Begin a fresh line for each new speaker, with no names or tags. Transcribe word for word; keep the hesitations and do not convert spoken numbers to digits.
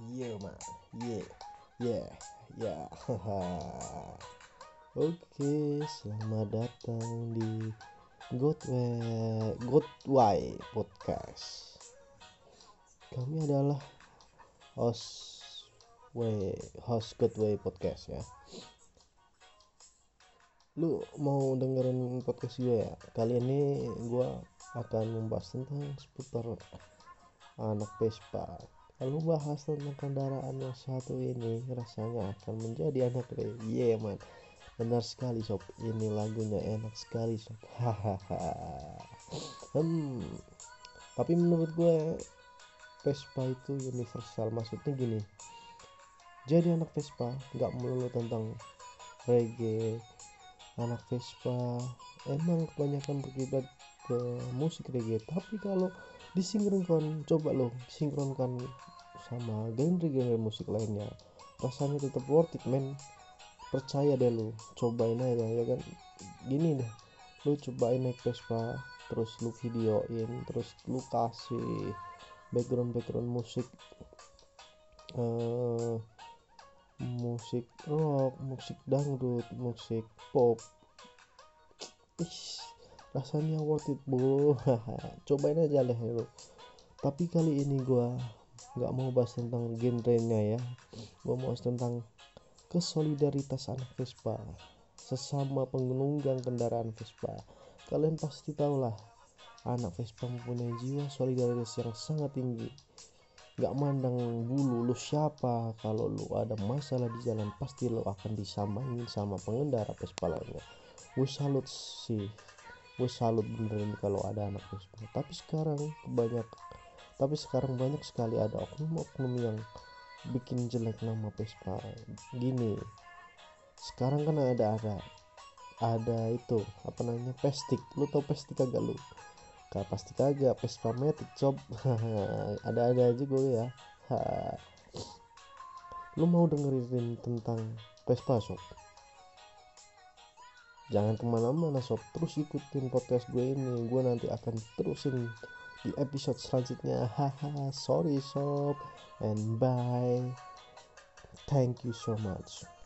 Iya man, yeah, yeah, yeah, haha. Oke, selamat datang di Godway Godway Podcast. Kami adalah host Way host Godway Podcast ya. Lu mau dengerin podcast gue ya? Kali ini gue akan membahas tentang seputar anak Vespa. Kalau bahas tentang kendaraan yang satu ini, rasanya akan menjadi anak Re. Iya yeah, man, benar sekali sob. Ini lagunya enak sekali sob. Hahaha. hmm. Tapi menurut gue Vespa itu universal. Maksudnya gini, jadi anak Vespa nggak melulu tentang reggae. Anak Vespa emang kebanyakan berkiblat ke musik reggae, tapi kalau disinkronkan, coba lo sinkronkan sama genre-genre musik lainnya, rasanya tetap worth it men. Percaya deh lu, cobain aja ya kan. Gini deh, lu cobain naik Vespa, terus lu videoin, terus lu kasih background background musik, uh, musik rock, musik dangdut, musik pop. Ih, rasanya worth it bro. Cobain aja deh lu. Tapi kali ini gua nggak mau bahas tentang genrenya ya, gua mau bahas tentang kesolidaritas anak Vespa sesama penunggang kendaraan Vespa. Kalian pasti tahu lah, anak Vespa mempunyai jiwa solidaritas yang sangat tinggi. Gak mandang bulu lu siapa, kalau lu ada masalah di jalan pasti lu akan disamain sama pengendara Vespa lainnya. Gue salut sih, gue salut beneran kalau ada anak Vespa. Tapi sekarang banyak, tapi sekarang banyak sekali ada oknum-oknum yang bikin jelek nama Vespa. Gini, sekarang kan ada ada ada itu apa namanya, pestik. Lu tau pestik kagak lu? Kak pasti kagak, Vespa Matic sob. Ada-ada aja gue ya. Lu mau dengerin tentang Vespa sob? Jangan kemana-mana sob, terus ikutin podcast gue ini. Gue nanti akan terusin di episode selanjutnya. Haha, sorry sob, and bye. Thank you so much.